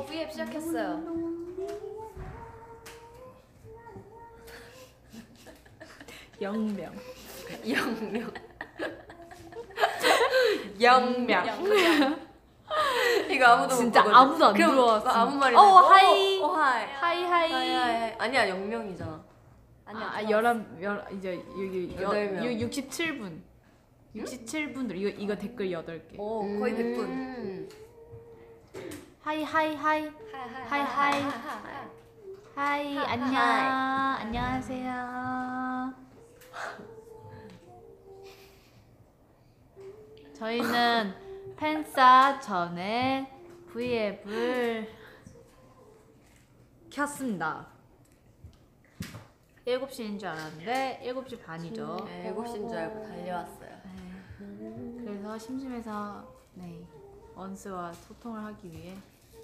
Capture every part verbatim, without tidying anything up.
어, 브이앱 시작했어요. 영명. 영명. 영명. 이거 아무도 진짜 못 아무도 안 그럼 들어왔어. 아무 말이나. 어, 하이. 어, 하이. 하이 하이. 하이 하이. 아니야 영명이잖아. 아니야. 아, 열한 열 이제 여기 여덟 명. 육십칠 분. 육십칠 분들 이거 이거 댓글 여덟 개. 오, 거의 백 분. 음. 하이 하이 하이. 하이, 하이. 하이 하, 안녕. 하이. 안녕하세요. 저희는 팬싸 전에 브이앱을 켰습니다. 일곱 시인 줄 알았는데 일곱 시 반이죠. 네, 일곱 시인 줄 알고 달려왔어요. 네. 그래서 심심해서 네 원스와 소통을 하기 위해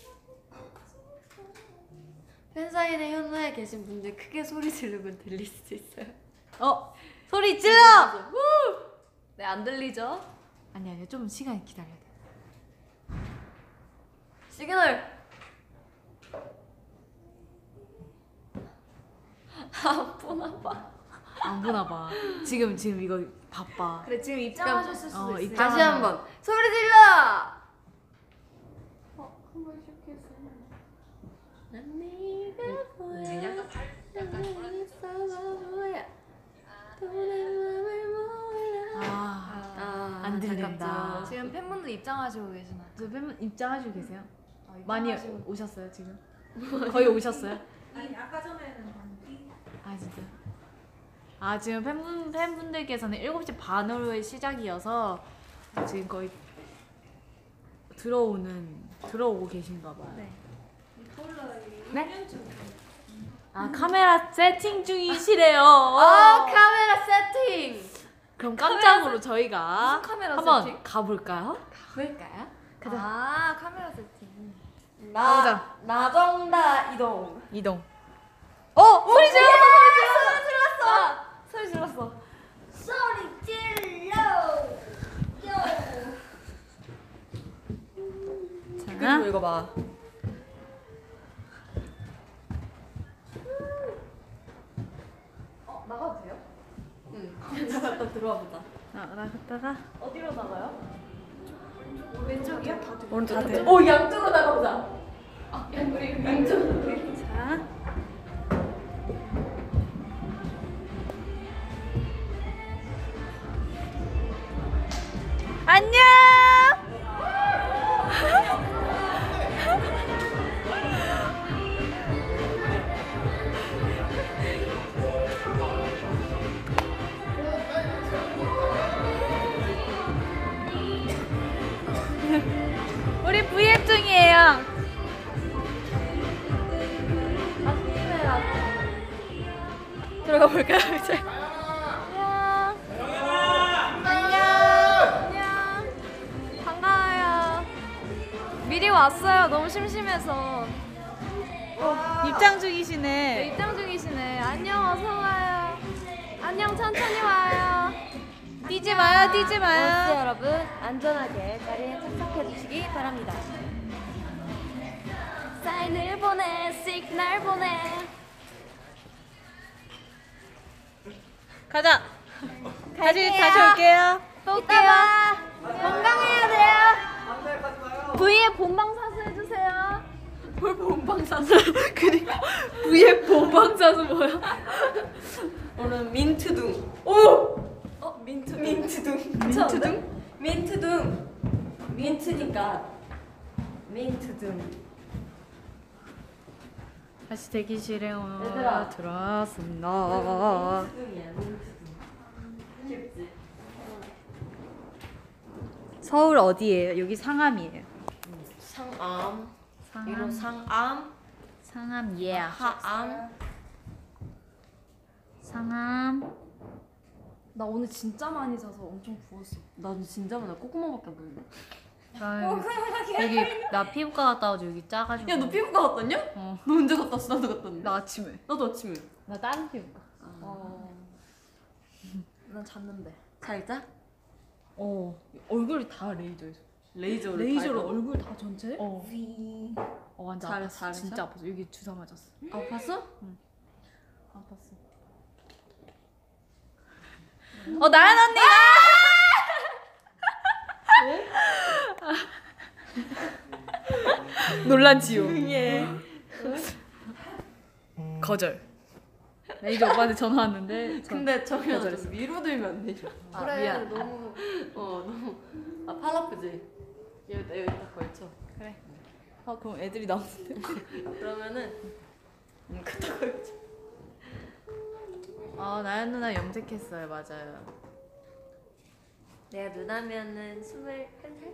팬사인회 현장에 계신 분들 크게 소리 지르면 들릴 수도 있어요. 어 소리 질러! 네, 안 들리죠? 아니 아니 좀 시간 기다려야 돼. 시그널. 안 보나 봐. 안 보나 봐. 지금 지금 이거 바빠. 그래, 지금 입장하셨을 수도 어, 있어요. 입장. 다시 한번 소리 질러. 어, 한번 시작했어. 난 네가 보여. 약간 뭐야? 너의 맘을 몰라. 아, 아, 안 들린다. 아깝죠. 지금 팬분들 입장하시고 계시나요? 저 팬분 입장하시고 계세요? 아, 많이 입장하시고. 오셨어요 지금? 거의 오셨어요? 아니 아까 전에는 봤는데 아 진짜. 아 지금 팬분 팬분들께서는 일곱 시 반으로의 시작이어서 지금 거의 들어오는 들어오고 계신가 봐요. 네. 네? 아 카메라 세팅 중이시래요. 아 카메라 세팅. 그럼 깜짝으로 저희가 무슨 카메라 한번 세팅? 가볼까요? 볼까요? 가자. 아, 카메라 세팅. 나 나정다 이동. 이동. 어 소리 질러! 소리 질렀어. 소리 질러! 그리고 자, 이거 봐. 어, 나가도 돼요? 응. 나갔다 들어와 보자. 나 나갔다가 어디로 나가요? 왼쪽이요? 다 오늘 다 돼? 오 양쪽으로 나가보자. 아, 우리 양쪽으로. 자. 안녕. 우리 브이앱 중이에요. 들어가 볼까요 이제? 안녕. 안녕. 반가워요. 미리 왔어요. 너무 심심해서. 입장 중이시네. 네, 입장 중이시네. 안녕, 어서 와요. 안녕, 천천히 와요. 뛰지 마요, 뛰지 버스 마요. 여러분 안전하게 자리에 착석해 주시기 바랍니다. 사인을 보내, 시그널 보내. 가자. 다시 다시 올게요. 또 올게요. 건강해야 돼요. 브이앱 본방사수 해주세요. 뭘 본방사수? 그니까 브이앱 본방사수 뭐야? 오늘 민트둥. 오! 어 민트 민트둥. 민트둥? 민트둥. 민트니까 민트둥. 다시 대기실에 오- 얘들아. 들어왔습니다. 민트둥이야 민트둥. 귀엽지? 서울 어디예요? 여기 상암이에요. 상암. 상암. 이로 상암. 상암 예. 하암. 상암. 나 오늘 진짜 많이 자서 엄청 부었어. 나도 진짜 많아. 꼬꼬마밖에 안 보이네. 나 여기, 여기 나 피부과 갔다 와서 여기 짜가지고. 야 너 피부과 갔다 왔냐? 어. 너 언제 갔다 왔어? 나도 갔다 왔는데. 나 아침에. 나도 아침에. 나 다른 피부과. 어. 난 잤는데. 잘 자? 어. 얼굴이 다 레이저에서. 레이저를 레이저로 밟아. 얼굴 다 전체? 어. 위. 어, 완전 잘- 아팠어. 잘했어? 진짜 아팠어. 여기 주사 맞았어. 아팠어? 아팠어. 어 나연 언니가 논란 지요. 예. 거절. 매니저 오빠한테 전화 왔는데 전- 근데 정현아 거절했어. 좀 위로 들면 안 되죠? 아, 그래 미안. 너무 어 너무 아 팔 아프지? 여기다 여기다 걸쳐. 그래. 아 그럼 애들이 나오는데. 그러면은 음 갖다 걸쳐. 아 나연 누나 염색했어요. 맞아요. 내가 누나면은 스물한 살?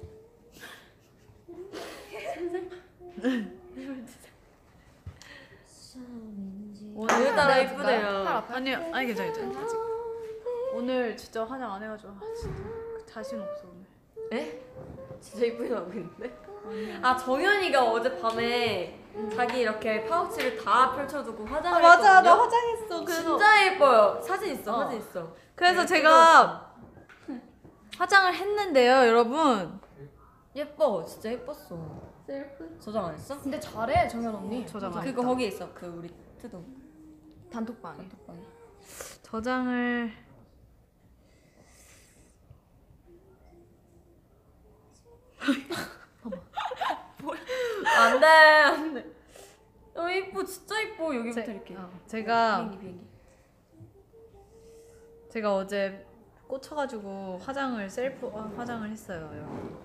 오늘따라 이쁘네요. 아니요, 아니 괜찮아, 괜찮아. 아직. 오늘 진짜 화장 안 해가지고 아, 진짜 자신 없어 오늘. 에? 진짜 이쁘게 나오고 있는데? 아 정현이가 어젯밤에 자기 이렇게 파우치를 다 펼쳐두고 화장을 했거든요? 화장했어. 진짜 예뻐요. 사진 있어, 어. 사진 있어. 그래서 되게 제가 화장을 했는데요, 여러분. 예뻐, 진짜 예뻤어. 셀프? 저장 안 했어? 근데 잘해 정연 언니. 저장 안 그거 거기 있어, 그 우리 트동. 단톡방에. 단톡방에. 저장을 안 돼, 안 돼. 어 이뻐, 진짜 이뻐. 여기부터 제- 이렇게. 어, 제가 비행기, 비행기. 제가 어제 꽂혀가지고 화장을 셀프 어, 화장을 했어요, 여러분.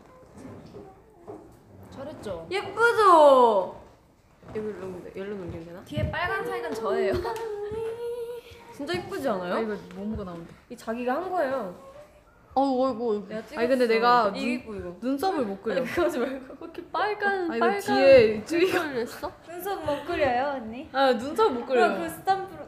잘했죠. 예쁘죠? 여기 열로 열로 넘기면 되나? 뒤에 빨간색은 저예요. 진짜 예쁘지 아 않아요? 이거 뭐뭐가 나온다. 이 자기가 한 거예요. 어이구 어이구. 내가 찍었어. 아니 근데 내가 이거 눈, 이뻐 이거. 눈썹을 못 그려. 그거 하지 말고. 이렇게 빨간 아 이거 뒤에 쭈이가. 그렸어? 눈썹 못 그려요 언니? 아 눈썹 못 그려. 그럼 그 스탬프로.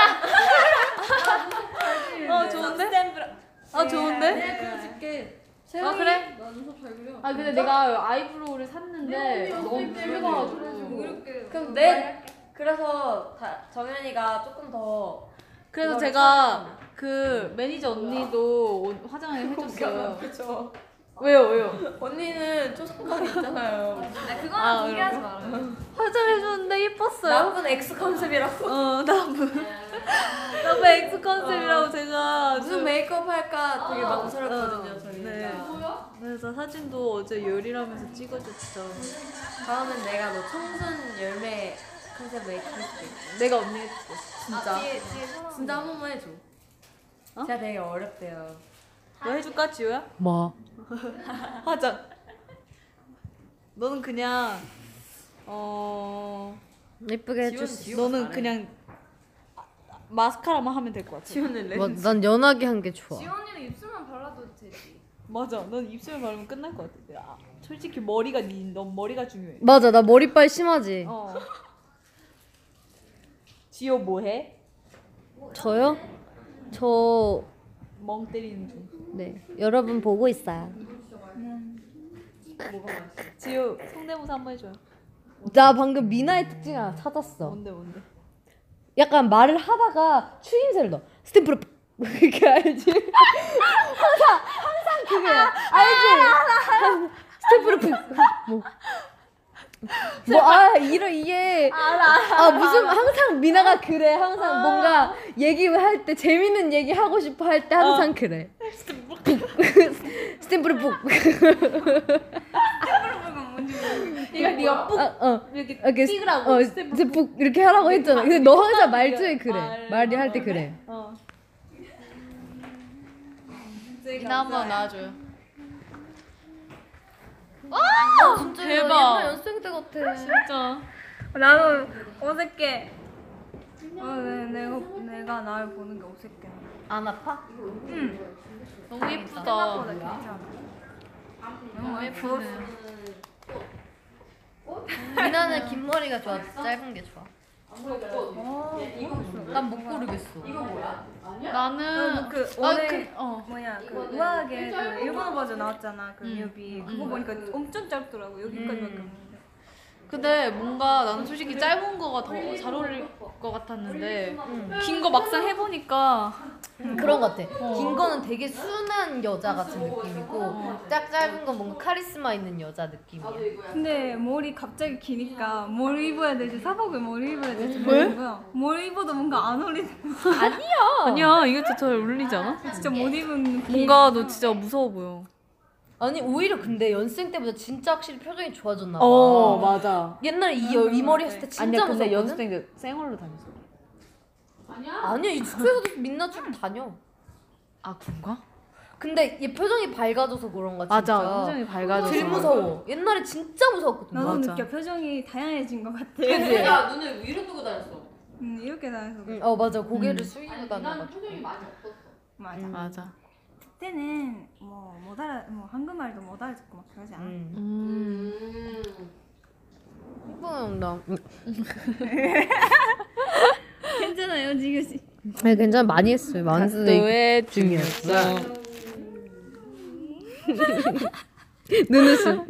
어 좋은데? 아 좋은데? 내가 그려줄게. 아 그래? 나 눈썹 잘 그려. 아 근데 내가 아이브로우를 샀는데 너무 붉어가지고. 이렇게. 그럼 내 그래서 다, 정현이가 조금 더. 그래서 그거를 제가 그 매니저 언니도 오- 화장을 해줬어요. 그죠. 왜요 왜요? 언니는 초상권이 있잖아요. 아 그거는 아, 공개하지 그런 말아요. 화장해줬는데 예뻤어요. 나쁜 X 컨셉이라고. 어 나쁜 나쁜 엑스 컨셉이라고 제가 아주- 무슨 메이크업 할까 되게 망설였거든요, 어, 저희가. 네. 그래서 사진도 어제 열이라면서 찍어줬죠. 다음엔 내가 너 청순 열매 컨셉 메이크업 할 수도 있고. 내가 언니 해줄게. 진짜. 아, 뒤에 뒤에 사람. 진짜 한 번만 해줘. 어? 제가 되게 어렵대요. 너 해줄까 지우야? 뭐? 화장. 너는 그냥 어 예쁘게 지우는 너는 그냥 마스카라만 하면 될 것 같아. 지우는 렌즈. 뭐, 난 연하게 한 게 좋아. 지원 언니는 입술만 발라도 되지. 맞아. 넌 입술 바르면 끝날 것 같아. 아, 솔직히 머리가 니, 넌 머리가 중요해. 맞아, 나 머리빨 심하지. 어. 지호 뭐해? 저요? 저, 멍 때리는 중. 네, 여러분 보고 있어요. 지호 성대모사 한번 해줘요. 나 방금 미나의 특징 하나 찾았어. 뭔데 뭔데? 약간 말을 하다가 추임새를 넣어. 스탬프로 그게 알지? 항상 항상 그게야. 알지? 스탬프로 뭐. 뭐아 이런 이게 아 무슨 항상 미나가 그래. 항상 뭔가 얘기할 때 재밌는 얘기 하고 싶어 할 때 항상 그래. 스탬프로 푹. 이거 네가 ปุ๊ 아, 어. 이렇게 이렇게 찍으라고 어, 스탬프 이제 북 이렇게 하라고 했잖아. 근데 너 항상 말투에 말- 그래. 말이 할 때 그래. 어. 미나 한번 나와줘요. 진짜 대박. 옛날 연습생 때 같아. 진짜. 나도 어색해. 어, 내, 내가 내가 나를 보는 게 어색해. 안 아파? 너무 예쁘다. 생각보다 괜찮아. 너무 예쁘네. 미나는 긴 머리가 좋아, 짧은 게 좋아. 난 못 고르겠어. 나는 그 아, 오늘 그, 어. 뭐냐 그 우아하게 그 일본어 버전 나왔잖아 그 음. 뮤비 그거 보니까 엄청 짧더라고 여기까지밖에 없는데. 근데 뭔가 나는 솔직히 짧은 거가 더 잘 어울릴 것 같았는데 긴 거 막상 해보니까 그런 것 같아. 긴 거는 되게 순한 여자 같은 느낌이고 짝 짧은 건 뭔가 카리스마 있는 여자 느낌이야. 근데 머리 갑자기 기니까 뭘 입어야 될지 사복을 뭘 입어야 될지 모르고요. 뭘 입어도 뭔가 안 어울리는 아니야. 아니야 이게 더 잘 어울리지 않아? 진짜 못 입은 느낌. 뭔가 너 진짜 무서워 보여. 아니 오히려 근데 연습생 때보다 진짜 확실히 표정이 좋아졌나 봐. 어 맞아. 옛날에 이, 여- 이 머리 했을 때 진짜 아니야 근데 무섭거든? 연습생 때 생얼로 다녔어. 아니야 이 숙소에서도 민낯으로 다녀. 아 그런가? 근데 얘 표정이 밝아져서 그런가 진짜. 맞아 표정이 밝아져서. 덜 무서워. 옛날에 진짜 무서웠거든. 나도 맞아. 느껴. 표정이 다양해진 것 같아. 그치? 야 눈을 위로 뜨고 다녔어. 음, 이렇게 다녀서 그래. 응, 어 맞아 고개를 음. 숙이고 다녀가지고. 맞아. 음. 맞아. 그때는 뭐 못 알아, 뭐 한국말도 못 알아듣고 막 그러지 않아. 응. 음. 예쁜 나. 괜찮아요, 지금 씨. 아니 괜찮아 많이 했어요. 각도의 중요성. 눈웃음.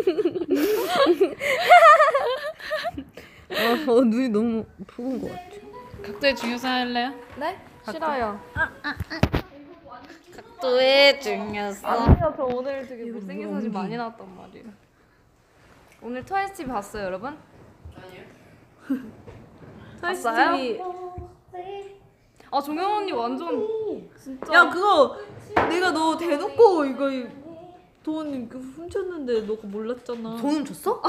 어, 어 눈이 너무 푸근 것 같아. 각도의 중요성 할래요? 네? 싫어요. 각도의 중요성. 아니요 저 오늘 되게 못생긴 사진 많이 나왔단 말이에요. 오늘 트와이스 티비 봤어요, 여러분? 아니요. 트와이스 봤어요? 티비. 아 종현 언니 완전 진짜. 야 그거 내가 너 대놓고 이거 돈 훔쳤는데 너가 몰랐잖아. 돈 줬어?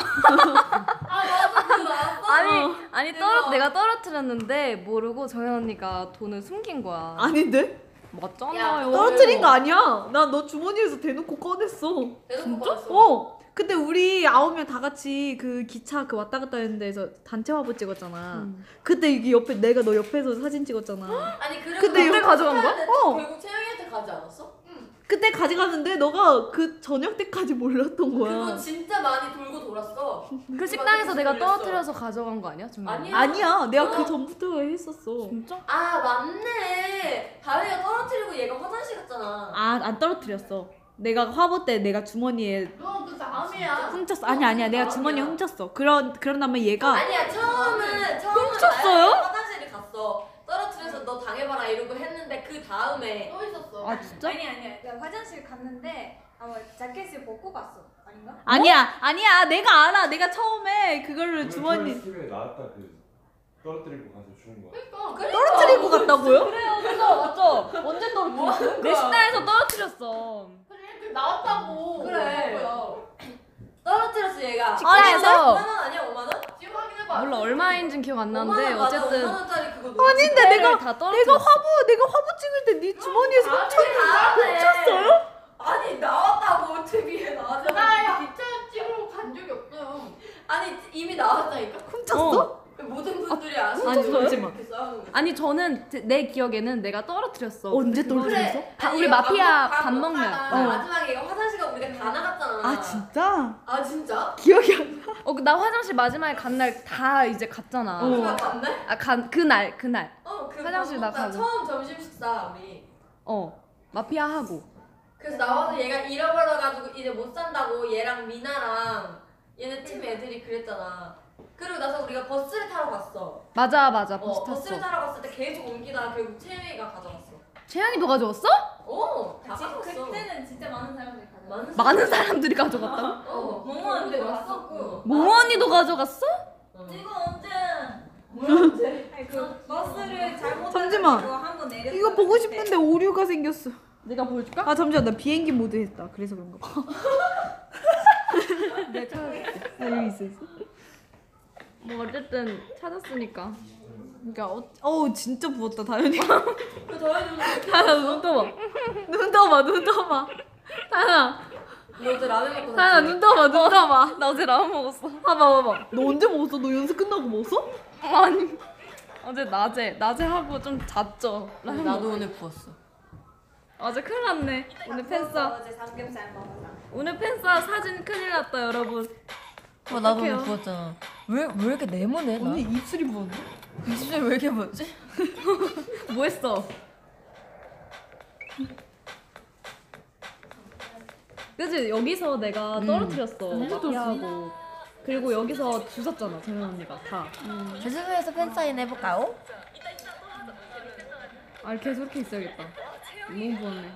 아니 아니 떨어 내가 떨어뜨렸는데 모르고 정현 언니가 돈을 숨긴 거야. 아닌데? 맞잖아요. 떨어뜨린 거 아니야. 나 너 주머니에서 대놓고 꺼냈어. 진짜? 어. 그때 우리 아홉 명 다 같이 그 기차 그 왔다 갔다 했는 데서 단체 화보 찍었잖아. 음. 그때 이게 옆에 내가 너 옆에서 사진 찍었잖아. 아니 그리고 근데 그때 이거 가져간 거야? 어. 결국 채영이한테 가지 않았어? 그때 가져갔는데 너가 그 저녁 때까지 몰랐던 그거 거야. 진짜 많이 돌고 돌았어. 그 식당에서 내가 떨어뜨려서 가져간 거 아니야? 정현 언니? 아니야. 아니야. 내가 어. 그 전부터 했었어. 진짜? 아 맞네. 다혜가 떨어뜨리고 얘가 화장실 갔잖아. 아, 안 떨어뜨렸어. 내가 화보 때 내가 주머니에 너그 다음이야. 훔쳤어. 아니 아니야. 내가 주머니에 훔쳤어. 그런 그런 다음에 얘가 아니야 처음은 처음은 훔쳤어요? 나연이가 화장실에 갔어. 떨어뜨려서 너 당해봐라 이러고 했는데 그 다음에 또 있었어. 아 진짜? 아니 아니야. 내가 화장실 갔는데 아마 자켓을 벗고 갔어. 아닌가? 아니야. 아니야. 내가 알아. 내가 처음에 그거를 주머니 집에 나왔다 그 떨어뜨리고 가서 주운 거야. 그러니까. 떨어뜨리고 갔다고요? 그래서 맞죠? 언제 떨어뜨렸어? 내 식당에서 떨어뜨렸어. 나왔다고. 그래. 떨어뜨렸어 얘가. 식당에서. 오만 원 아니야 오만 원? 지금 확인해봐. 몰라 얼마인지는 기억 안 나는데 오만 원 맞아, 어쨌든 오만 원짜리 그거 노트. 아닌데 내가 다 내가 떨어뜨렸어. 화보 내가 화보 찍을 때 네 주머니에서 아, 훔쳤 훔쳤어요? 아니 나왔다고 티비에 나왔잖아. 나 기차 찍으러 간 적이 없어요. 아니 이미 나왔다니까. 훔쳤어? 모든 분들이 아시는 아니, 거지. 잠시만. 이렇게 싸우는 거. 아니 저는 제- 내 기억에는 내가 떨어뜨렸어. 언제 근데 그거를- 떨어뜨렸어? 다 아니, 우리 이거 마피아 밥 밥 먹다가 먹는. 어. 마지막에 이거 화장실 가고 우리가 다 나갔잖아. 아 진짜? 아 진짜? 기억이 안 나. 어, 나 화장실 마지막에 간 날 다 이제 갔잖아. 마지막 갔네? 아, 간 그날 그날. 어, 그 화장실 밥 먹다 나가고. 처음 점심 식사 우리. 어. 마피아 하고. 그래서 나와서 얘가 잃어버려가지고 이제 못 산다고 얘랑 미나랑 얘네 팀 애들이 그랬잖아. 그리고 나서 우리가 버스를 타러 갔어. 맞아 맞아. 버스 어, 버스를 탔어. 타러 갔을 때 계속 옮기다가 결국 채영이가 가져갔어. 채영이도 가져왔어? 오, 다 지- 가져갔어. 그때는 진짜 많은 사람들이 가져. 많은 많은 사람들이 가져갔다고? 어, 몽원도 근데 왔었고. 모모 언니도 가져갔어? 어. 이거 언제? 뭐야 언제? 아니 그 버스를 잘못 잠시만. 타가지고 한번 내렸어. 이거 보고 싶은데 오류가 생겼어. 내가 보여줄까? 아 잠시만 나 비행기 모드 했다. 그래서 그런가 봐. 내가 찾아줄게. 아, 여기 있어 있어. 뭐 어쨌든 찾았으니까. 그러니까 어, 어우 진짜 부었다 다현이. 그 더해주는 다현아 눈 떠봐. 눈 떠봐 눈 떠봐. 다현아 너 어제 라면 먹고 다현아 잤지? 눈 떠봐 눈 떠봐. 나 어제 라면 먹었어. 봐봐 봐봐. 너 언제 먹었어? 너 연습 끝나고 먹었어? 아니. 어제 낮에 낮에 하고 좀 잤죠. 라면 나도 먹고. 오늘 부었어. 어제 큰일 났네. 오늘 팬싸. 어제 삼겹살 먹었어. 오늘 팬싸 사진 큰일 났다 여러분. 어, 나도 어떡해요? 오늘 부었잖아. 왜, 왜 이렇게 네모네? 나? 언니 입술이 부었네. 입술이 왜 이렇게 부었지? 뭐 했어? 그치 여기서 내가 떨어뜨렸어. 마피아하고. 그리고 여기서 주웠잖아 정현 언니가 다. 제주도에서 팬사인 해볼까요? 아 계속 이렇게 있어야겠다. 너무 부었네.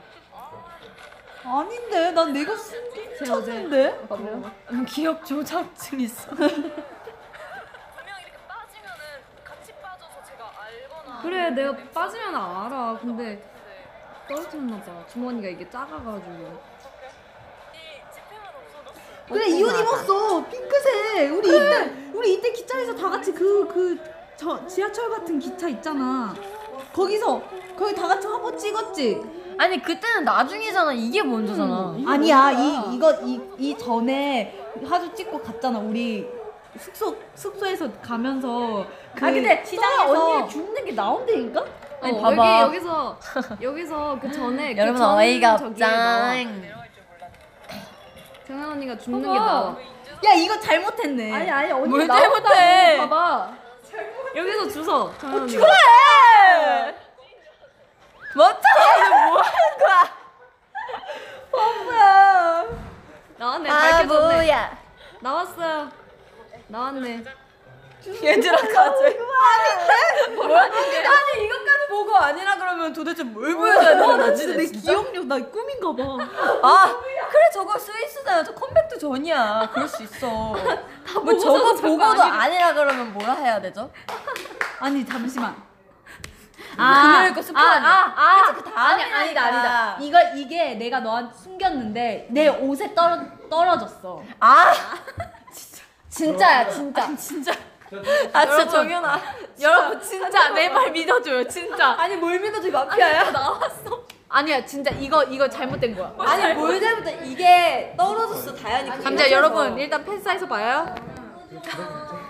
아닌데 난 내가 숨겼는데. 음, 기억 조작증 있어. 그래 내가 빠지면 알아. 근데 떨어졌나 봐. 주머니가 이게 작아가지고. 그래 이 옷 입었어 핑크색. 우리 이때 우리 이때 기차에서 다 같이 그 그 저 지하철 같은 기차 있잖아. 거기서 거기 다 같이 한번 찍었지. 아니 그때는 나중이잖아. 이게 먼저잖아. 아니야 이 이거 이 이 전에 사진 찍고 갔잖아. 우리 숙소 숙소에서 가면서 그 아 근데 시장에서 언니 죽는 게 나온다니까? 아니 어, 봐봐. 여기 여기서 여기서 그 전에 여러분 그 전 어이가 저기에 나와. 없짱. 정현 언니가 죽는 게 나와. 야 이거 잘못했네. 아니 아니 언니 뭘 나온다고. 잘못해? 봐봐. 여기서 주워. 정현 언니가. 그래. 멋져. 뭐 하는 거야? 나왔네. 밝혀졌네. 바보야. 나왔어요. 나왔네. 얘들아 가자. 아닌데? 뭐야? 아니 이것까지 보고 아니라 그러면 도대체 뭘 보여줘야 되는 나 거지? 진짜 내 기억력 나 꿈인가 봐. 아 그래 저거 스위스잖아. 저 컴백도 전이야. 그럴 수 있어. 뭐 저거 보고도 아니라 그러면 뭐라 해야 되죠? 아니 잠시만. 금요일 거 스포 아니야? 아, 그치, 그 다음이 아니, 아니다, 아니까. 아니다. 이거 이게 내가 너한테 숨겼는데 내 옷에 떨어 떨어졌어. 아 진짜야 진짜. 진짜. 아 진짜 정연아. 여러분 진짜 내 말 믿어줘요 진짜. 아니 뭘 믿어줘 마피아야? 나왔어. 아니야 진짜 이거 이거 잘못된 거야. 아니 뭘 잘못해 이게 떨어졌어 다현이. 감자 여러분 일단 팬사에서 봐요. 그래, 그래,